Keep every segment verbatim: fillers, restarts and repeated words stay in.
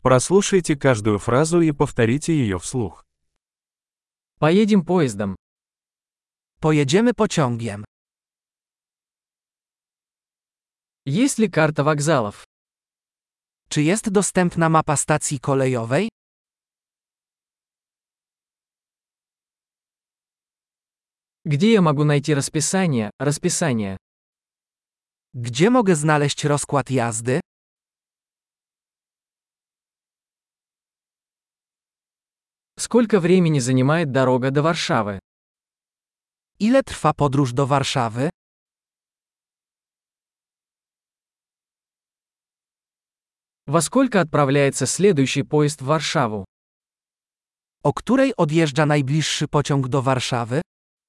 Прослушайте каждую фразу и повторите ее вслух. Поедем поездом. Pojedziemy pociągiem. Есть ли карта вокзалов? Czy jest dostępna mapa stacji kolejowej? Где я могу найти расписание, расписание? Gdzie mogę znaleźć rozkład jazdy? Сколько времени занимает дорога до Варшавы? Ile trwa podróż do Warszawy? Во сколько отправляется следующий поезд в Варшаву? O której odjeżdża najbliższy pociąg do Warszawy?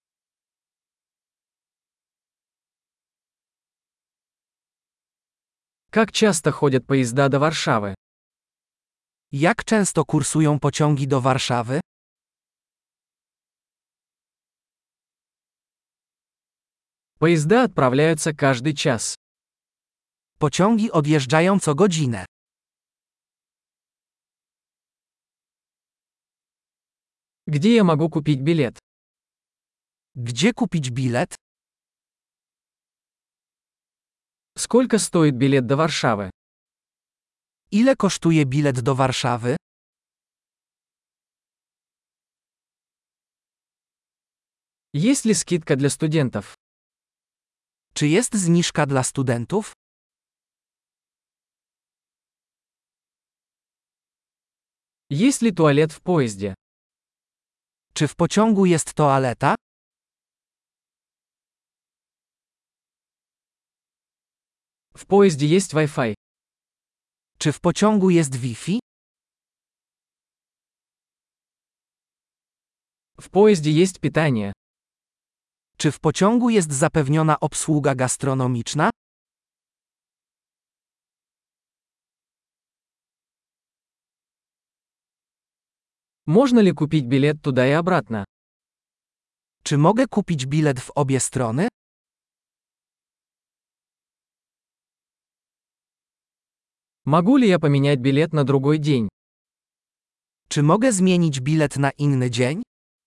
Как часто ходят поезда до Варшавы? Jak często kursują pociągi do Warszawy? Поезда отправляются каждый час. Pociągi odjeżdżają co godzinę. Где я могу купить билет? Gdzie kupić bilet? Сколько стоит билет до Варшавы? Ile kosztuje bilet do Warszawy? Есть ли скидка для студентов? Czy jest zniżka dla studentów? Есть ли туалет в поезде? Czy w pociągu jest toaleta? В поезде есть Wi-Fi. Czy w pociągu jest Wi-Fi? В поезде есть питание. Czy w pociągu jest zapewniona obsługa gastronomiczna? Можно ли купить билет туда и обратно? Czy mogę kupić bilet w obie strony? Могу ли я поменять билет на другой день? Czy mogę zmienić bilet na inny dzień?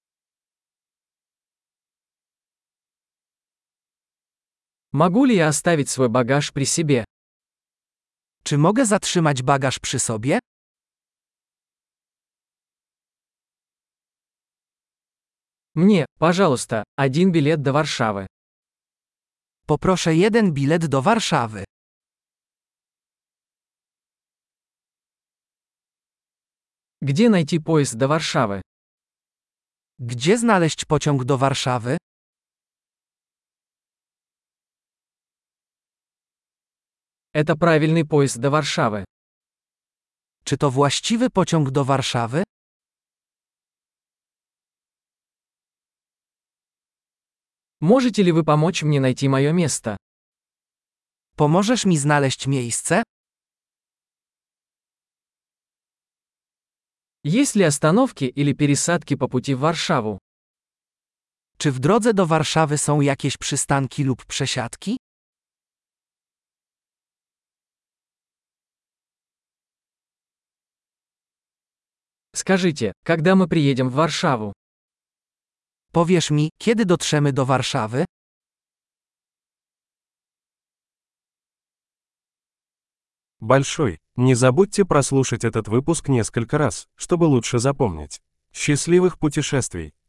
Могу ли я оставить свой багаж при себе? Czy mogę zatrzymać bagaż przy sobie? Мне, пожалуйста, один билет до Варшавы. Poproszę jeden bilet do Warszawy. Где найти поезд до Варшавы? Gdzie znaleźć pociąg do Warszawy? Это правильный поезд до Варшавы. Czy to właściwy pociąg do Warszawy? Можете ли вы помочь мне найти мое место? Pomożesz mi znaleźć miejsce? Есть ли остановки или пересадки по пути в Варшаву? Czy w drodze do Warszawy są jakieś przystanki lub przesiadki? Скажите, когда мы приедем в Варшаву? Powiesz mi, kiedy dotrzemy do Warszawy? Большой. Не забудьте прослушать этот выпуск несколько раз, чтобы лучше запомнить. Счастливых путешествий!